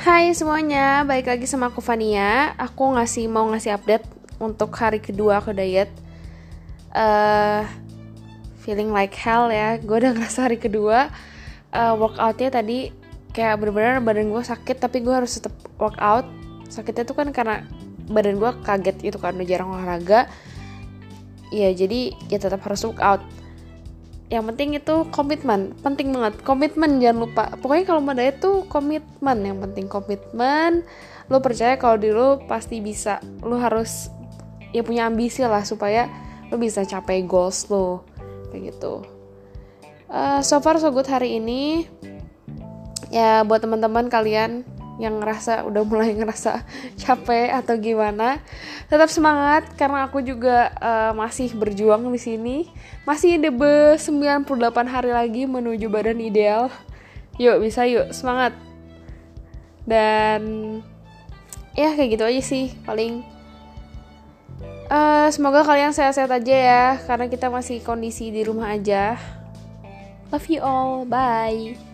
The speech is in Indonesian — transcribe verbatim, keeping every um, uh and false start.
Hai semuanya, balik lagi sama aku Fania. Aku ngasih mau ngasih update untuk hari kedua aku diet. Uh, feeling like hell ya. Gue udah ngerasa hari kedua uh, workoutnya tadi kayak bener-bener badan gue sakit, tapi gue harus tetap workout. Sakitnya tuh kan karena badan gue kaget gitu kan, udah jarang olahraga. Ya jadi ya tetap harus workout. Yang penting itu komitmen, penting banget komitmen, jangan lupa. Pokoknya kalau mau diet tuh komitmen, yang penting komitmen. Lo percaya kalau diri lo pasti bisa. Lo harus ya punya ambisi lah supaya lo bisa capai goals lo kayak gitu. Uh, so far so good hari ini. Ya buat teman-teman kalian yang ngerasa udah mulai ngerasa capek atau gimana, tetap semangat karena aku juga uh, masih berjuang di sini. Masih ada sembilan puluh delapan hari lagi menuju badan ideal. Yuk bisa yuk, semangat. Dan ya kayak gitu aja sih paling. Uh, semoga kalian sehat-sehat aja ya, karena kita masih kondisi di rumah aja. Love you all, bye.